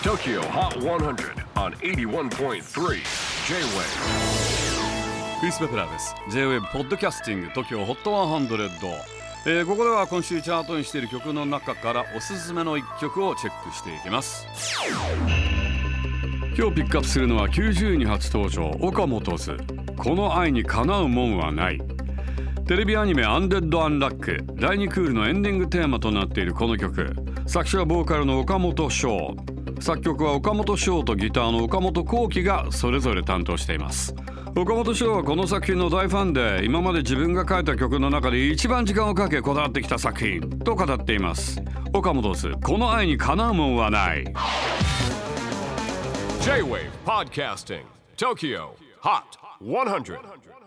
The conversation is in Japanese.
TOKYO HOT 100 on 81.3 J-WAVE クリス・ベプラーです。 J-WAVE ポッドキャスティング TOKYO HOT 100、ここでは今週チャートにしている曲の中からおすすめの1曲をチェックしていきます。今日ピックアップするのは90位に初登場、岡本図、この愛にかなうもんはない。テレビアニメアンデッド・アンラック第2クールのエンディングテーマとなっているこの曲、作詞はボーカルの岡本翔、作曲は岡本翔とギターの岡本幸輝がそれぞれ担当しています。岡本翔はこの作品の大ファンで、今まで自分が書いた曲の中で一番時間をかけこだわってきた作品と語っています。岡本図、この愛にかなうもんはない。 J-WAVE PODCASTING TOKYO HOT 100